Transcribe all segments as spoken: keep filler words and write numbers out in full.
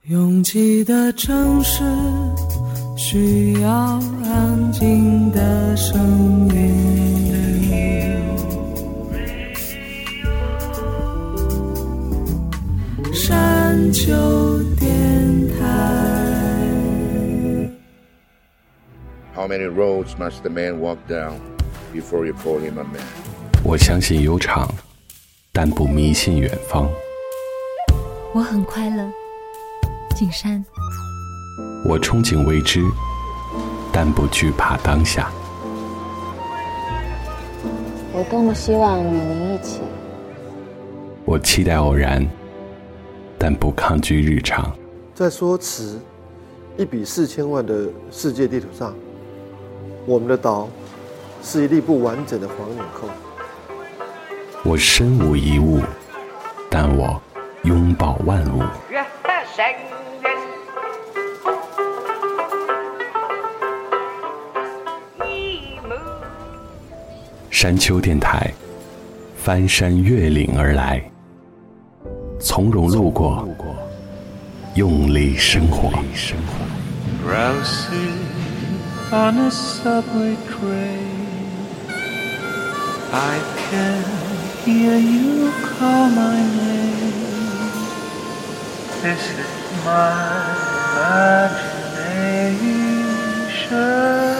拥挤的城市需要安静的声音，山丘电台。 How many roads must the man walk down before you call him a man? 我相信悠长，但不迷信远方。 我很快乐，景山。 我憧憬未知，但不惧怕当下。 我多么希望与您一起。 我期待偶然，但不抗拒日常。 在说词一比四千万的世界地图上，我们的岛是一粒不完整的黄纽扣。 我身无一物，但我拥抱万物。山丘电台，翻山越岭而来，从容路过，用力生活。 Drowsing on a subway train, I can hear you call my name. This is my imagination.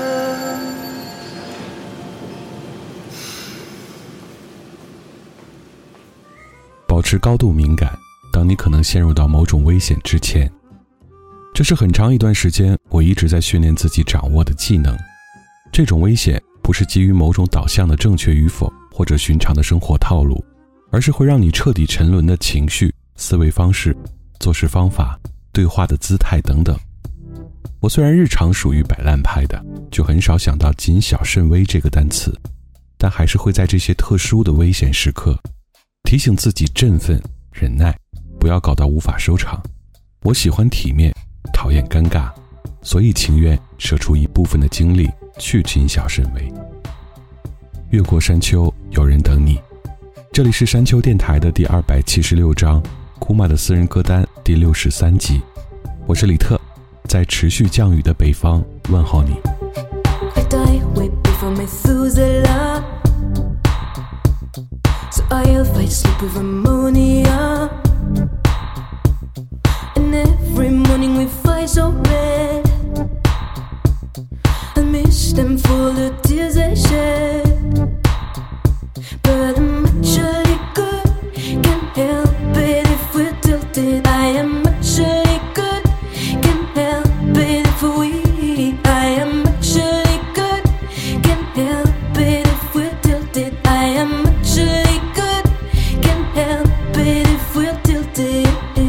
保持高度敏感，当你可能陷入到某种危险之前。这是很长一段时间我一直在训练自己掌握的技能。这种危险不是基于某种导向的正确与否，或者寻常的生活套路，而是会让你彻底沉沦的情绪、思维方式、做事方法、对话的姿态等等。我虽然日常属于摆烂派的，就很少想到谨小慎微这个单词，但还是会在这些特殊的危险时刻提醒自己振奋、忍耐，不要搞到无法收场。我喜欢体面，讨厌尴尬，所以情愿舍出一部分的精力去谨小慎微。越过山丘，有人等你。这里是山丘电台的第二百七十六章，库玛的私人歌单第六十三集。我是李特，在持续降雨的北方问候你。 So I'll fight sleep with ammonia. And every morning we fight so red. I miss them for the tears they shed. But I'm actually good, can't help it if we're tilted. I am actually good, can't help it if we. I am actually good, can't help it if we're tilted. I am actually help it if we're tilted.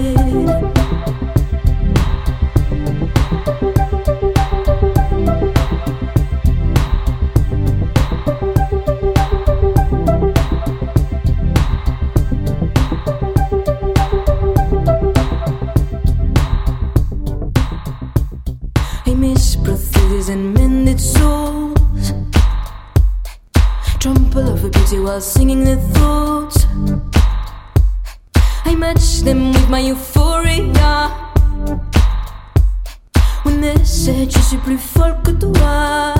I miss prostheses and mended souls. Trample over beauty while singing their thoughts. I match them with my euphoria. When they said je suis plus folle que toi.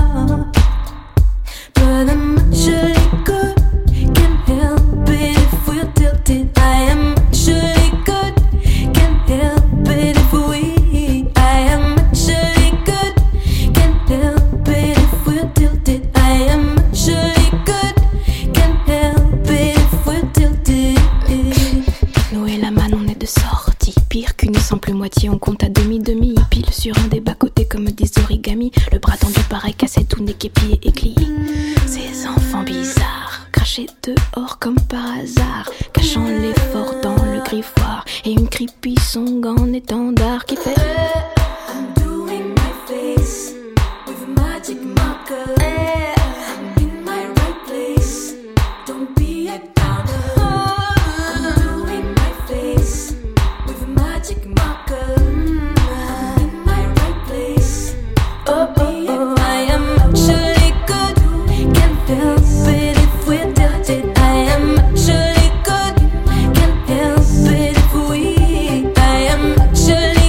But I'm actually good, can't help it if we're tilted. I am actually good, can't help it if we. I am actually good, can't help it if we're tilted. I am actually good, can't help it if we're tilted. Noël la manne, on est de sortie. Pire qu'une sans plus moitié, on compte à demi-demi. Pile sur un des bas-côtés comme des origamis. Le bras tendu pareil cassé, tout n'est qu'épié et clié. Ces enfants bizarres, crachés dehors comme par hasard, cachant l'effort dans le griffoir. Et une creepy song en étendard qui fait I'm doing my face with a magic marker. I'm in my right place, don't be a downer. I'm doing my face with a magic marker. I'm in my right place, don't be a downer. I am actually good, can't help it if we're tilted. I am actually good, can't help it if we. I am actually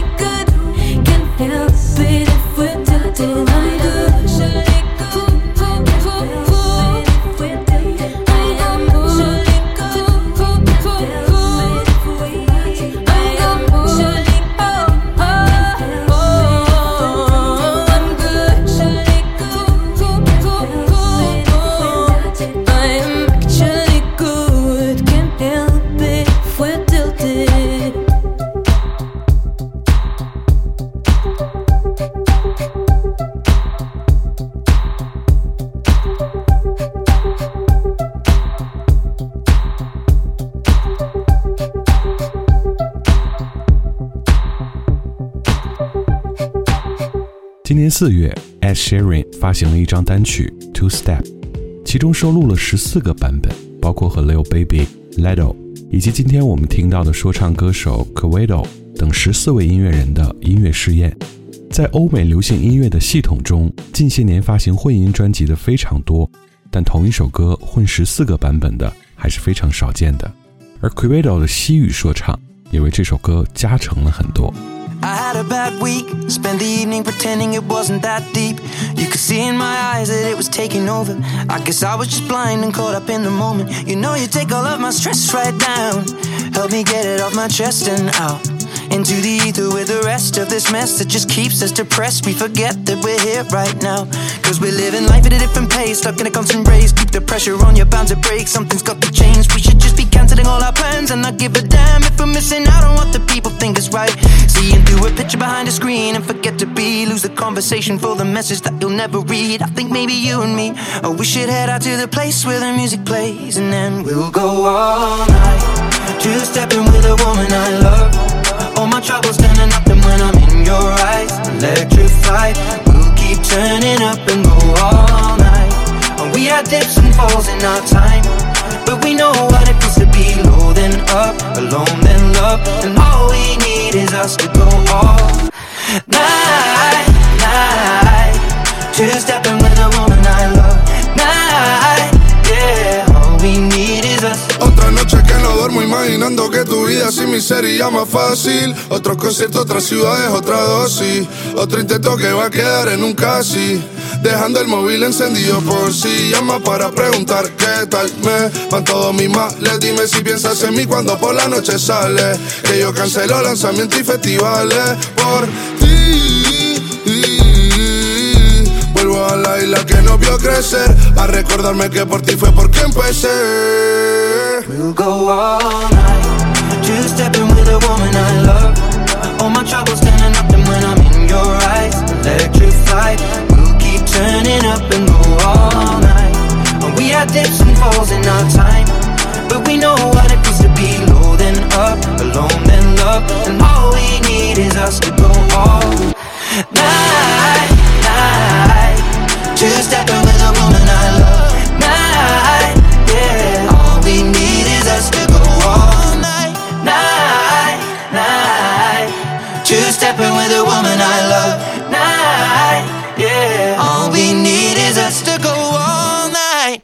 今年四月 Ed Sheeran 发行了一张单曲 Two Step， 其中收录了十四个版本，包括和 Lil Baby、Lado 以及今天我们听到的说唱歌手 Quavo 等十四位音乐人的音乐试验。在欧美流行音乐的系统中，近些年发行混音专辑的非常多，但同一首歌混十四个版本的还是非常少见的。而 Quavo 的西语说唱也为这首歌加成了很多。 I had a bad week, spent the evening pretending it wasn't that deep. You could see in my eyes that it was taking over. I guess I was just blind and caught up in the moment. You know you take all of my stress right down. Help me get it off my chest and out into the ether with the rest of this mess that just keeps us depressed. We forget that we're here right now, cause we're living life at a different pace, stuck in a constant race. Keep the pressure on, you're bound to break. Something's got to change. We should just be cancelling all our plans and not give a damn if we're missing out on what the people think is right. Seeing through a picture behind a screen and forget to be, lose the conversation for the message that you'll never read. I think maybe you and me, oh, we should head out to the place where the music plays, and then we'll go all night, two-stepping with a woman I love. All my troubles turning up, and when I'm in your eyes, electrified. We'll keep turning up and go all night. And we had dips and falls in our time, but we know what it feels to be low then up, alone then love. And all we need is us to go all night, night, two-stepping with a woman I love. Night, yeah, all we need is us. Otra noche que no duermo imaginando que tu vida sin mí sería más fácil. Otros conciertos, otras ciudades, otra dosis. Otro intento que va a quedar en un casi, dejando el móvil encendido por si llama para preguntar qué tal me van todos mis males. Dime si piensas en mí cuando por la noche sale, que yo cancelo lanzamientos y festivales por ti. Vuelvo a la isla que nos vio crecer, a recordarme que por ti fue porque empecé. We'll go all night, two-stepping with a woman I love. All my troubles turning up, and when I'm in your eyes, electrified. We'll keep turning up and go all night. And we had dips and falls in our time, but we know what it feels to be low then up, alone then love. And all we need is us to go all night, night, two-stepping with a woman I love. Night, yeah, all we need is us to go all night, night, night, two-stepping with a woman I love. Night, yeah, all we need is us to go all night.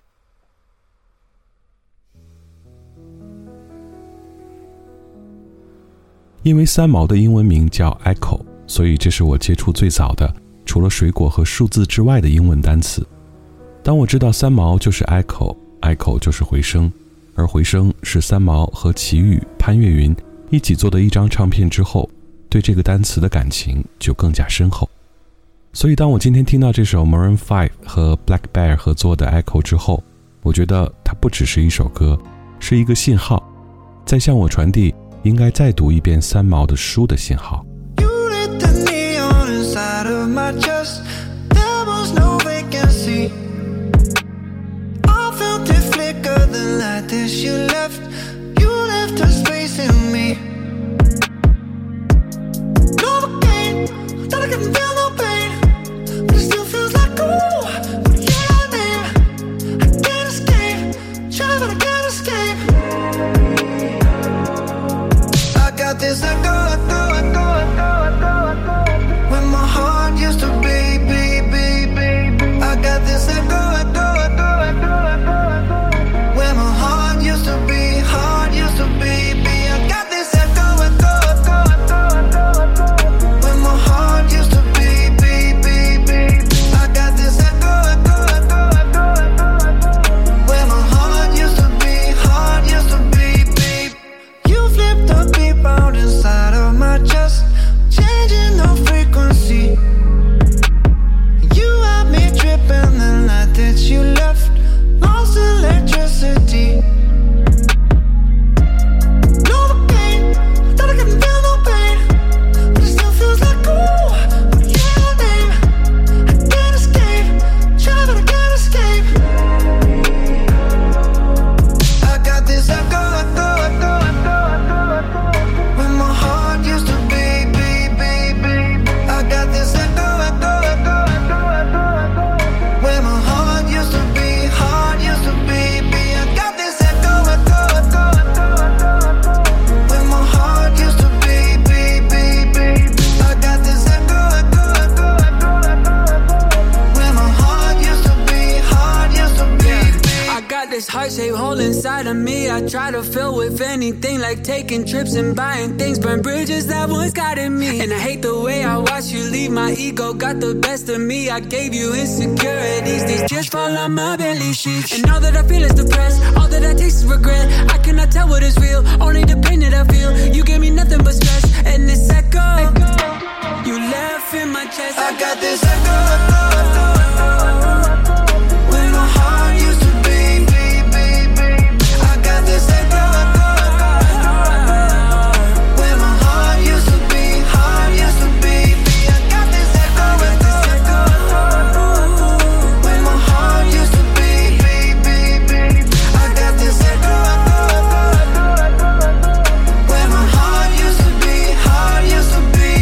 因为三毛的英文名叫 Echo， 所以这是我接触最早的除了水果和数字之外的英文单词。当我知道三毛就是 Echo， Echo 就是回声，而回声是三毛和齐豫、潘越云一起做的一张唱片之后，对这个单词的感情就更加深厚。所以当我今天听到这首 Maroon 五和 Black Bear 合作的 Echo 之后，我觉得它不只是一首歌，是一个信号，在向我传递应该再读一遍三毛的书的信号。 Inside of my chest, there was no vacancy. I felt it flicker, the light that you left. You left a space in me. Novocaine, thought I couldn't feel no pain, but it still feels like ooh. But yeah, I name, I can't escape. Try but I can't escape. I got this echo, echo, echo, echo, echo, echo. When my heart used to be, be, be, be. I got this echo, echo, echo, echo, echo, echo. When my heart used to be, heart used to be, be. I got this echo. inside of me I try to fill with anything, like taking trips and buying things, burn bridges that once got in me. And I hate the way I watch you leave, my ego got the best of me. I gave you insecurities, these tears fall on my belly sheets. And all that I feel is depressed, all that I taste is regret. I cannot tell what is real, only the pain that I feel. You gave me nothing but stress, and this echo, you left in my chest. I got this echo, where my heart used to be. I got this echo, where my heart used to be, heart used to be. I got this echo, where my heart used to be. I got this echo, where my heart used to be, heart used to be.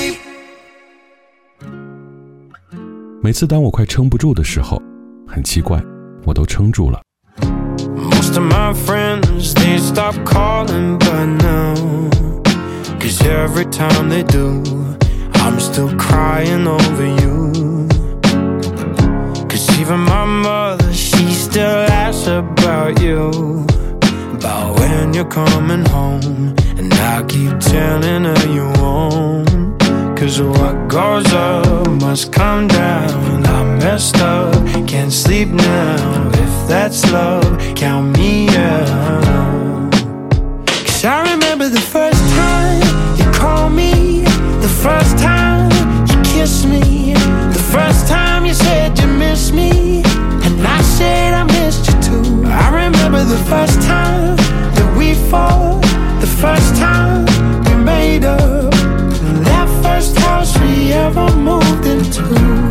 每次当我快撑不住的时候，很奇怪，我都撑住了。 Most of my friends, they stop calling by now, 'cause every time they do, I'm still crying over you. 'Cause even my mother, she still asks about you, about when you're coming home, and I keep telling her you won't. 'Cause what goes up must come down. I messed up, can't sleep now. If that's love, count me out. 'Cause I remember the first time you called me, the first time you kissed me, the first time you said you miss me, and I said I missed you too. I remember the first time that we fought, the first time we made up, that first house we ever moved into.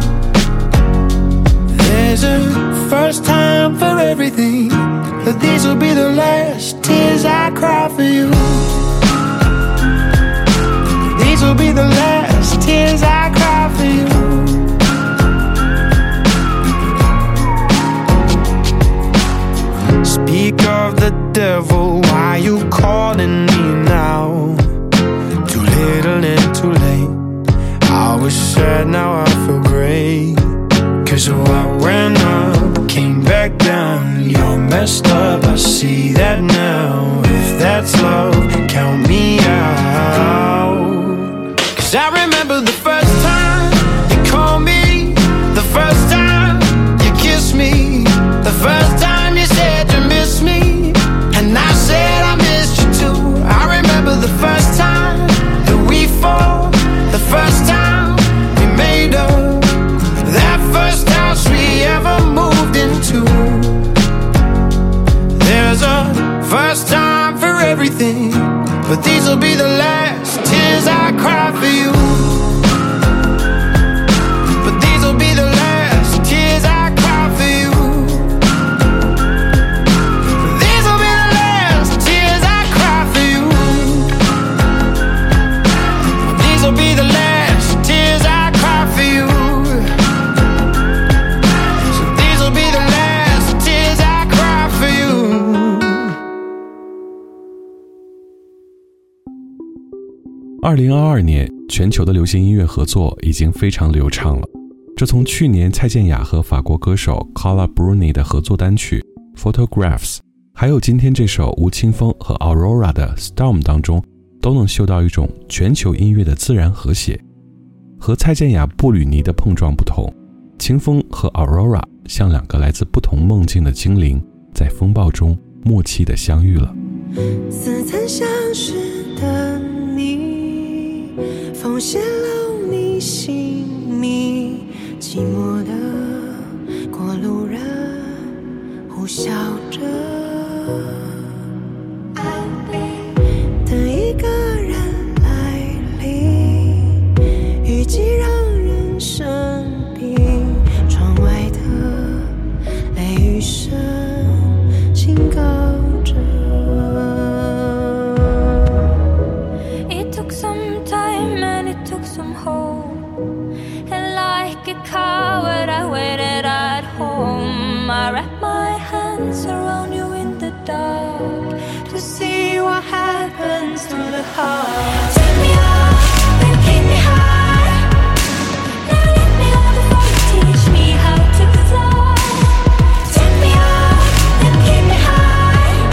There's a first time for everything, but these will be the last tears I cry for you. These will be the last tears I cry for you. Speak of the devil, why you calling me now? Too little and too late. I was sad, now I feel great. 'Cause what went up came back down. You're messed up, I see that now. If that's love, count me out. 'Cause I remember the first time you called me, the first time you kissed me, the first time you said you missed me, and I said I missed you too. I remember the first time that we fought, the first time we made up, that first house we ever moved into. There's a first time for everything, but these will be the last tears I cry for you. But these will be the last tears I cry for you. These will be the last tears I cry for you. These will be the last tears I cry for you. So these will be the last tears I cry for you. 二零二二年，全球的流行音乐合作已经非常流畅了。这从去年蔡健雅和法国歌手 Carla Bruni 的合作单曲 Photographs， 还有今天这首吴青峰和 Aurora 的 Storm 当中，都能嗅到一种全球音乐的自然和谐。和蔡健雅布吕尼的碰撞不同，青峰和 Aurora 像两个来自不同梦境的精灵，在风暴中默契地相遇了。 似曾相识的你，风泄露你姓名，寂寞的过路人呼啸着，等一个人来临，雨季让人生病，窗外的雷雨声警告着。 It took some time and it took some hope, and like a coward I waited at home. I wrapped my hands around you in the dark to see what happens to the heart. Take me up and keep me high. Now let me love before you teach me how to fly. Take me up and keep me high.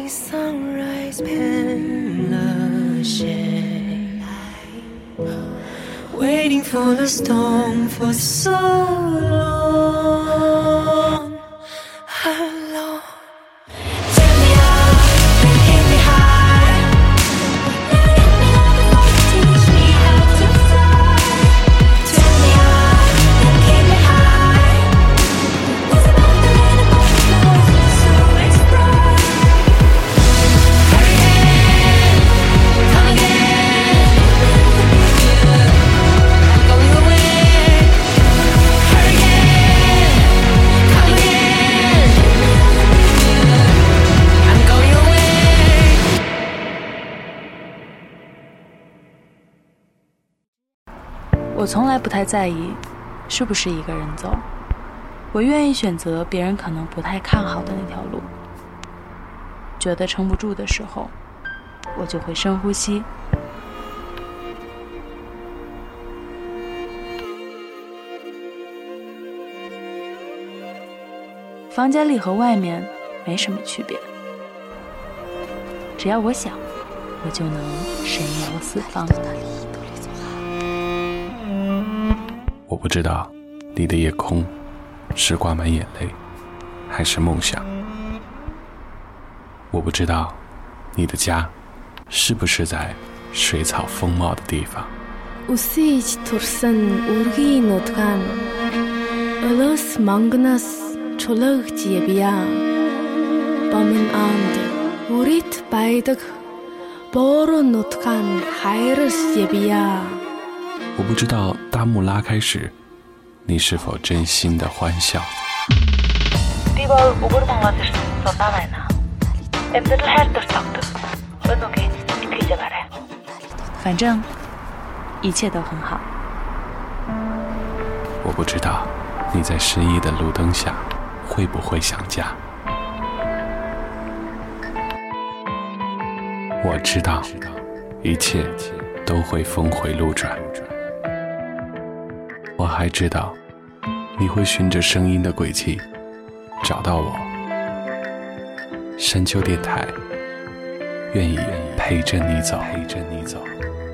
听 sunrise 骗了谁 Waiting for the storm for so long Hello Turn me up and hit me high Teach me how to fly Turn me up and keep me high It's about the rain above the clouds So it's bright Hurry again, come again I'm going away Hurry again, come again I'm going away 我从来不太在意是不是一个人走，我愿意选择别人可能不太看好的那条路。觉得撑不住的时候，我就会深呼吸。房间里和外面没什么区别，只要我想，我就能神游四方。 我不知道你的夜空是挂满眼泪还是梦想，我不知道你的家是不是在水草丰茂的地方。 Үсэж турсан үргийн нутгаан Өлөөс мангнаас чулаагч явъя Бомын анд үрит байдаг Боороо нутгаан хайрс явъя 我不知道大幕拉开时你是否真心的欢笑。 Би бол өгөр монгол ирсэн сулаа байна. Амьдрал хайр дуртагдаг. Өнөөгийн итгэж байгаарай. 反正一切都很好。 我不知道你在失意的路灯下会不会想家。我知道一切都会峰回路转。我还知道你会循着声音的轨迹找到我。山丘电台愿意陪着你走，陪着你走。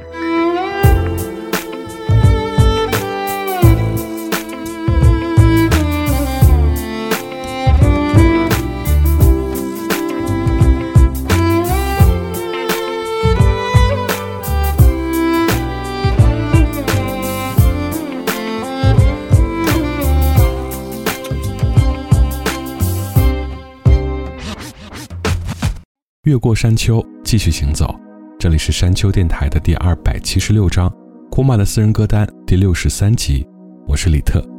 越过山丘，继续行走。这里是山丘电台的第二百七十六章，库玛的私人歌单第六十三集。我是李特。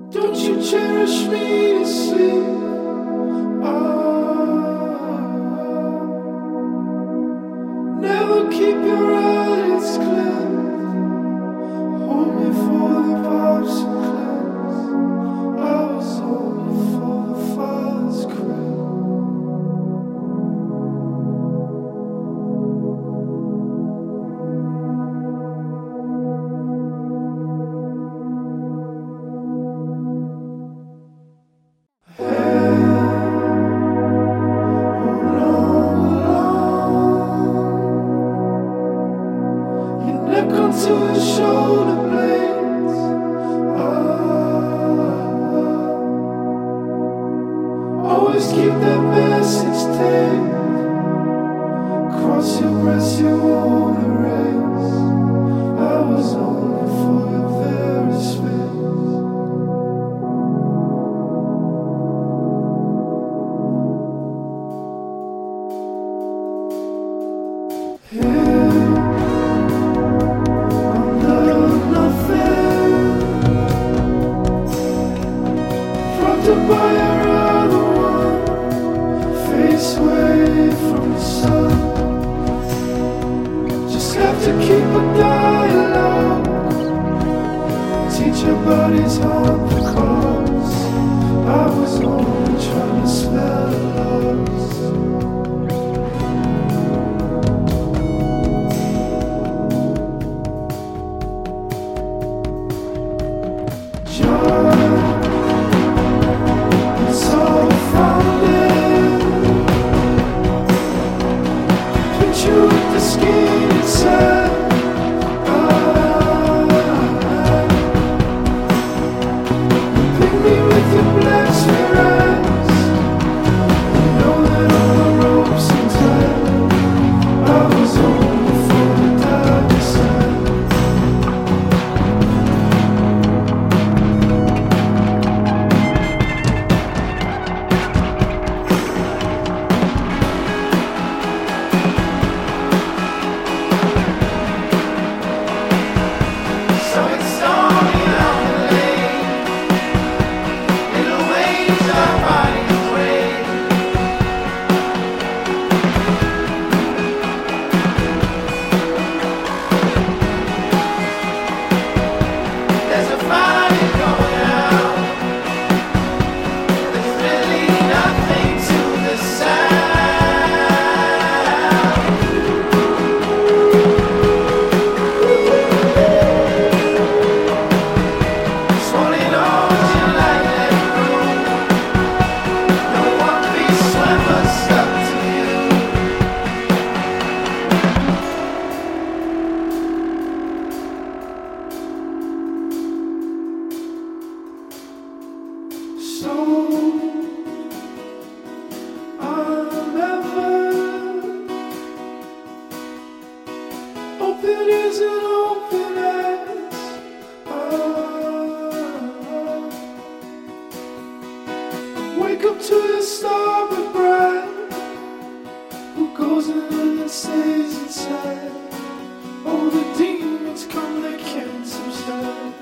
Who goes in and stays inside? All the demons come, they can't subside.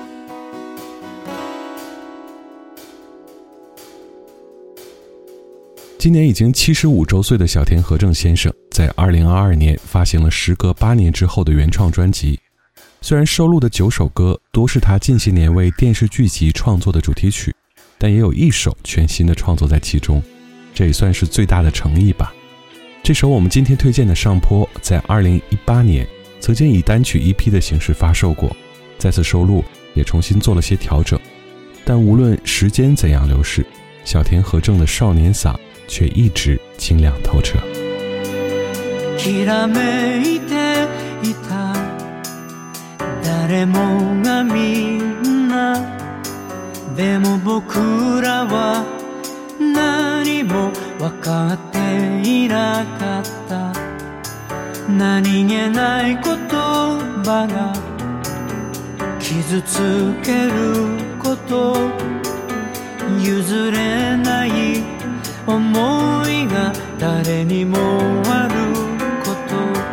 今年已经七十五周岁的小田和正先生，在二零二二年发行了时隔八年之后的原创专辑。虽然收录的九首歌多是他近些年为电视剧集创作的主题曲，但也有一首全新的创作在其中，这也算是最大的诚意吧。这首我们今天推荐的《上坡》在二零一八年曾经以单曲 E P 的形式发售过，再次收录也重新做了些调整。但无论时间怎样流逝，小田和正的少年嗓却一直清亮透彻。 きらめいていた誰もがみんなでも僕らは何も分かっていなかった何気ない言葉が傷つけること譲れない思いが誰にもあること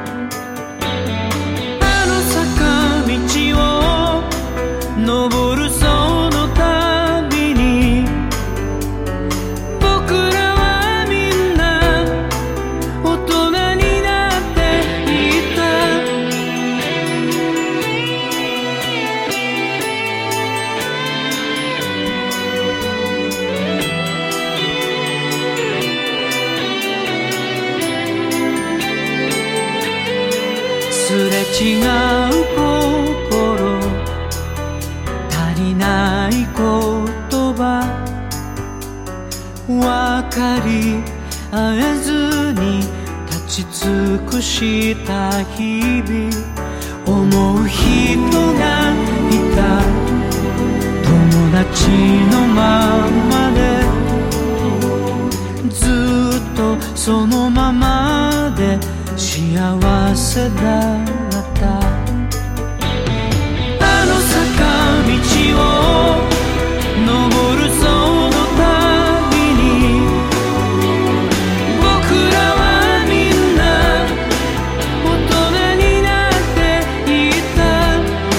あの坂道を登るその度に僕らはみんな大人になっていたすれ違う心足りない言葉分かり合えずに立ち尽くした日々思う人がいた友達のままでずっとそのままで幸せだったあの坂道を登るその度に僕らはみんな大人になっていた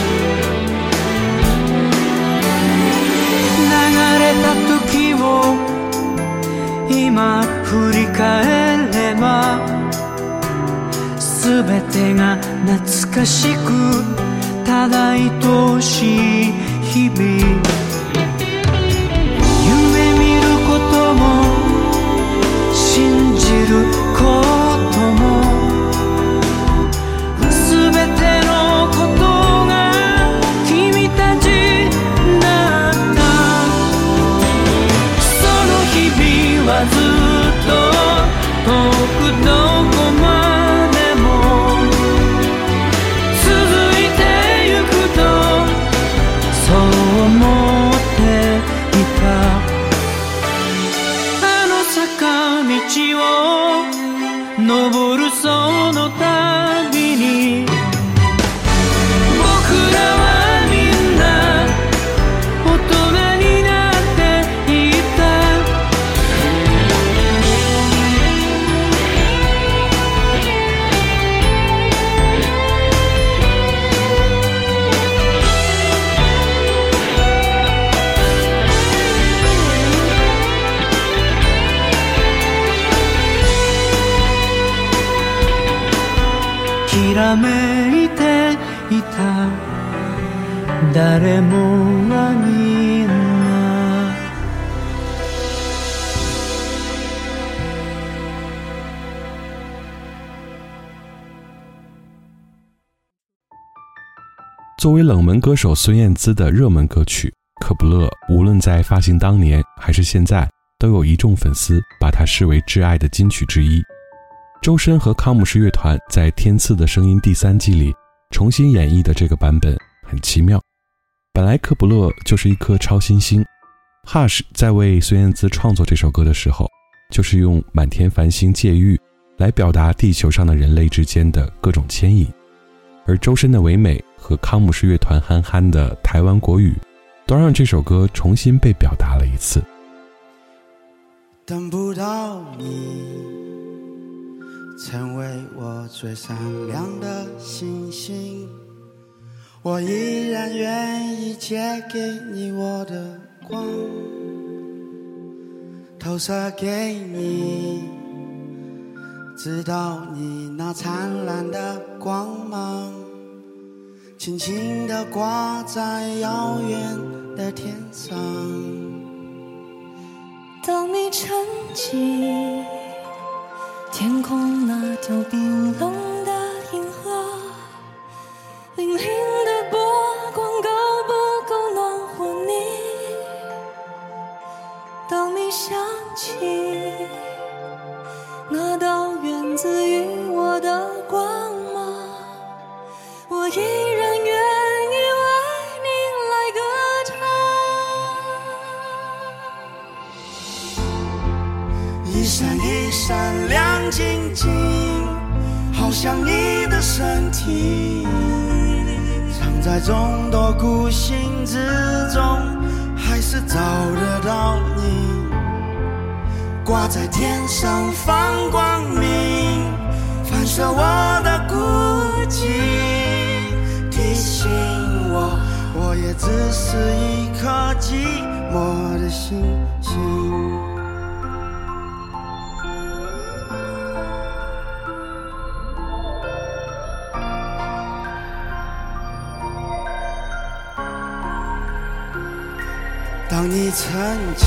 流れた時を今振り返ればすべてが懐かしくただ愛しい日々夢見ることも信じることもすべてのことが君たちだったその日々はずっと遠くどこまでそう思っていたあの坂道を登るその度に僕らはみんな大人になっていたきらめいていた誰もがみんな作为冷门歌手孙燕姿的热门歌曲《可不乐》，无论在发行当年还是现在，都有一众粉丝把它视为挚爱的金曲之一。周深和康姆士乐团在《天赐的声音》第三季里重新演绎的这个版本很奇妙。本来可不乐就是一颗超新星 Hush 在为孙燕姿创作这首歌的时候，就是用满天繁星借喻来表达地球上的人类之间的各种牵引，而周深的唯美和康姆士乐团憨憨的台湾国语都让这首歌重新被表达了一次。 等不到你成为我最闪亮的星星，我依然愿意借给你我的光，投射给你，直到你那灿烂的光芒轻轻地挂在遥远的天上。 当你沉寂，天空那条冰冷的银河，粼粼的波光够不够暖和你？当你想起那道源自于我的光芒，我依然愿意为你来歌唱。一闪一闪亮晶晶，好像你的身体，藏在众多孤星之中，还是找得到你。挂在天上放光明，反射我的孤寂，提醒我，我也只是一颗寂寞的星星。当你沉寂，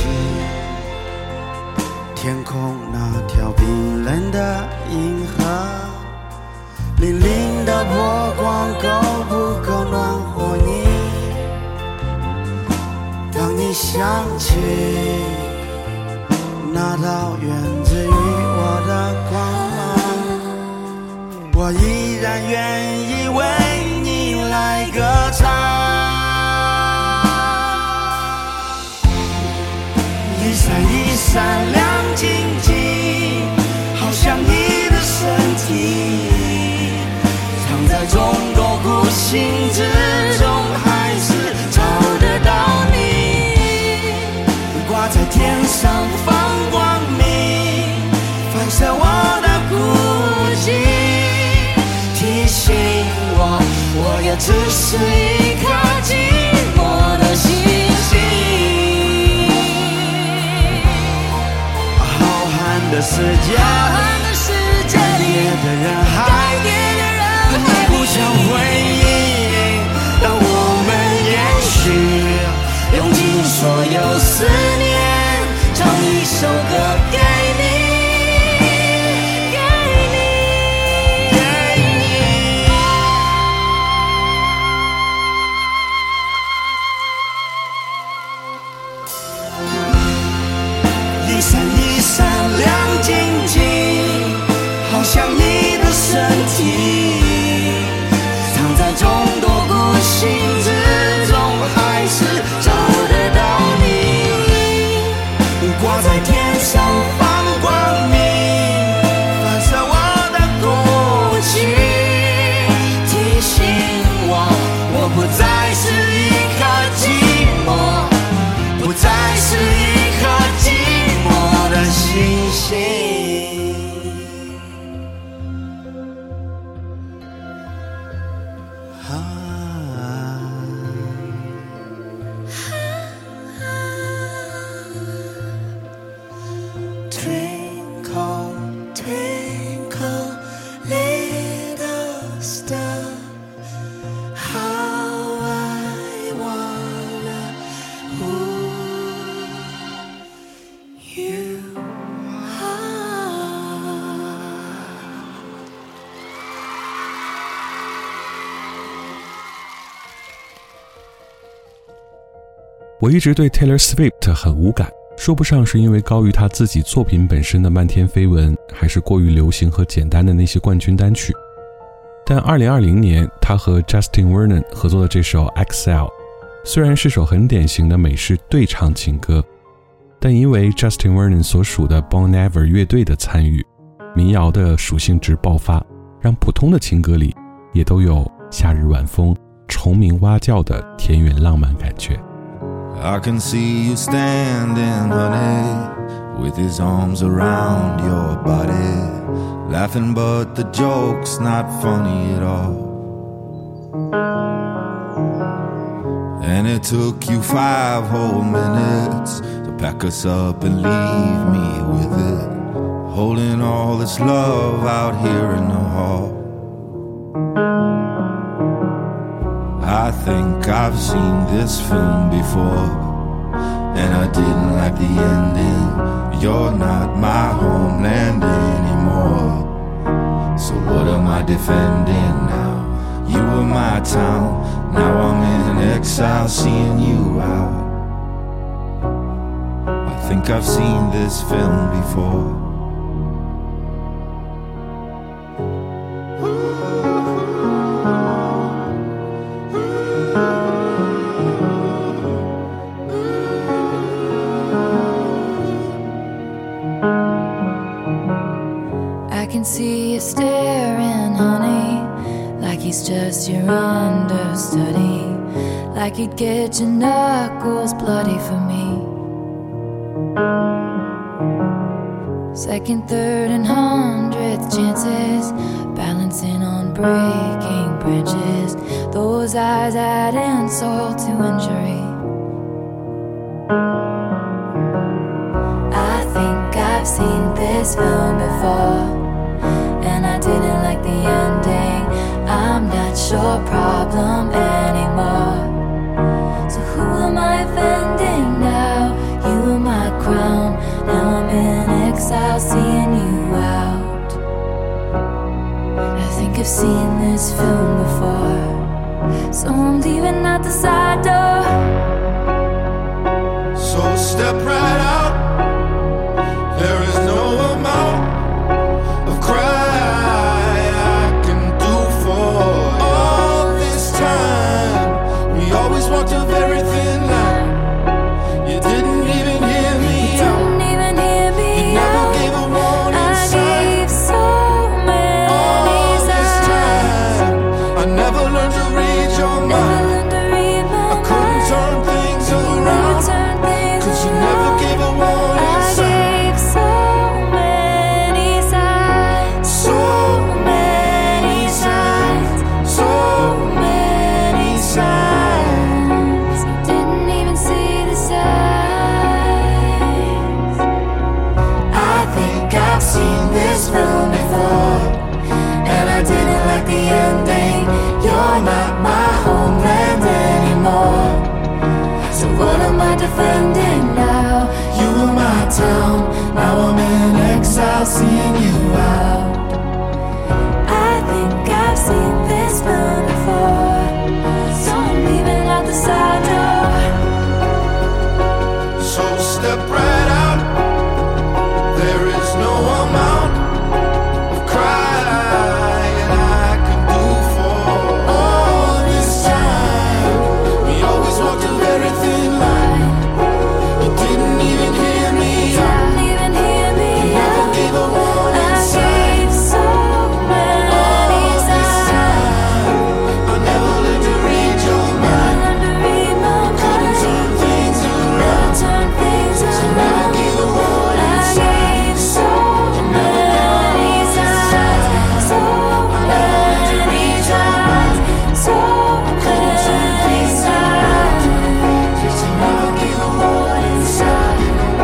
天空那条冰冷的银河，粼粼的波光够不够暖和你？当你想起那道源自于我的光芒，我依然愿意为你来歌唱。一闪一闪亮晶晶，好像你的身体，藏在众多孤星之中，还是找得到你。挂在天上放光明，反射我的孤寂，提醒我，我也只是一颗寂寞的星星。的世界，改变的人海，你不想回应，让我们延续，用尽所有思念，唱一首歌给你，给你，给你。一闪一闪亮晶晶，好像你的身体，藏在众多孤星之中，还是找得到你。挂在天上放光明，反射我的孤寂，提醒我，我不再是一颗寂寞，不再是一颗寂寞的星星。Twinkle, twinkle, little star, how I wanna hold you are. 我一直对 Taylor Swift 很无感，说不上是因为高于他自己作品本身的漫天绯闻，还是过于流行和简单的那些冠军单曲。但二零二零年他和 Justin Vernon 合作的这首 Excel 虽然是首很典型的美式对唱情歌，但因为 Justin Vernon 所属的 Bon Iver 乐队的参与，民谣的属性值爆发，让普通的情歌里也都有夏日晚风、虫鸣蛙叫的田园浪漫感觉。 I can see you standing, honey, with his arms around your body, laughing but the joke's not funny at all. And it took you five whole minutes to pack us up and leave me with it, holding all this love out here in the hall. I think I've seen this film before, and I didn't like the ending. You're not my homeland anymore, so what am I defending now? You were my town, now I'm in exile seeing you out. I think I've seen this film before. See you staring, honey, like he's just your understudy, like he'd get your knuckles bloody for me. Second, third, and hundredth chances, balancing on breaking branches. Those eyes add insult to injury. I think I've seen this film before, and I didn't like the ending. I'm not your problem anymore, so who am I offending now? You were my crown, now I'm in exile seeing you out. I think I've seen this film before, so I'm leaving out the side door. So step right out, there is no amount of cry walked a very thin line. You didn't even hear me out. Didn't even hear me you never out. Gave a warning I sign. Gave so many all this signs. time, I never learned to read your Never mind. learned to read my I couldn't mind. turn things around, turn things cause you around. never gave a warning I sign. Gave so many signs. So many signs. So many signs. I've seen this film before, and I didn't like the ending. You're not my homeland anymore, so what am I defending now? You were my town, now I'm in exile seeing you out. I think I've seen this film before, so I'm leaving out the side door. So step right out, there is no amount of crying I can do for all this time. We always walked a very thin line. You didn't even hear me out. Didn't even hear me You never out. gave a warning I sign. gave so many all this signs. time, I never learned to read your mind. Learned to read my Couldn't mind. turn things around, Turn things so around. never gave a warning I sign. gave so many signs, so many signs, so many signs. Just never gave a warning sign.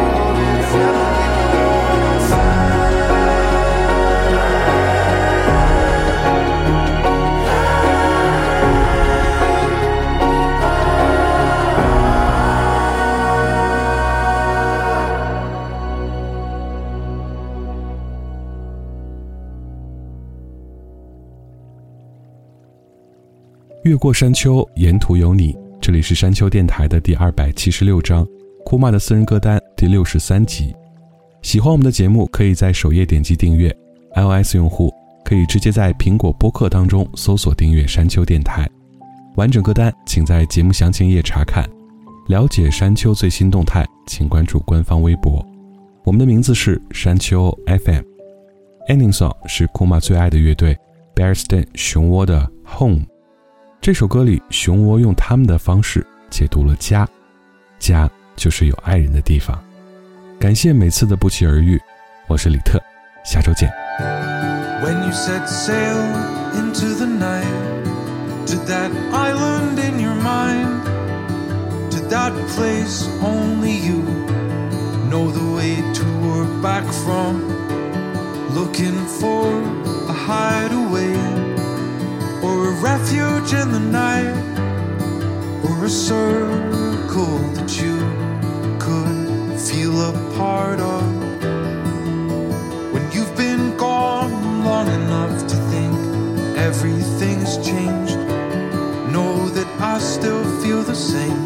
越过山丘，沿途有你。这里是山丘电台的第二百七十六章，库玛的私人歌单第六十三集。喜欢我们的节目，可以在首页点击订阅。iOS 用户可以直接在苹果播客当中搜索订阅山丘电台。完整歌单请在节目详情页查看。了解山丘最新动态，请关注官方微博。我们的名字是山丘 F M。Ending Song 是库玛最爱的乐队 Bearsden 熊窝的 Home。这首歌里，熊窝用他们的方式解读了家，家就是有爱人的地方。 感谢每次的不期而遇，我是李特，下周见。 When you set sail into the night, to that island in your mind, to that place only you know the way to or back from, looking for a hideaway or a refuge in the night, or a circle that you could feel a part of. When you've been gone long enough to think everything's changed, know that I still feel the same.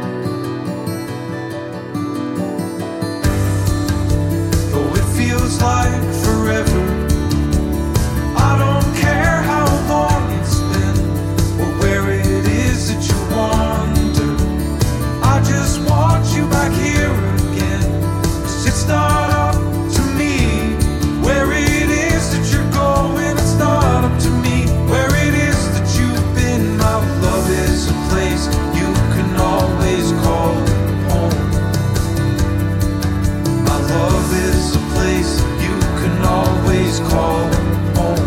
Though it feels like forever, I don't care how long it's been or where it is that you wander. I just want you back here again. 'Cause it's not up to me where it is that you're going. It's not up to me where it is that you've been. My love is a place you can always call home. My love is a place you can always call home.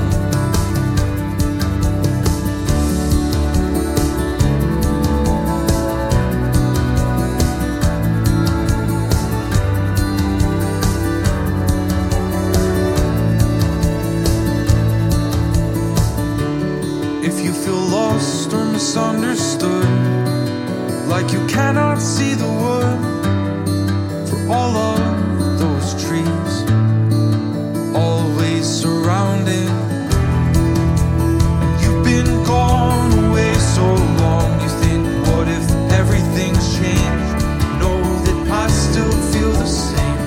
If you feel lost or misunderstood, like you cannot see the wood for all of those trees always surrounding, and you've been gone away so long, you think, what if everything's changed? Know that I still feel the same.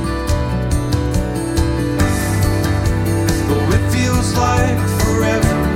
Though it feels like forever,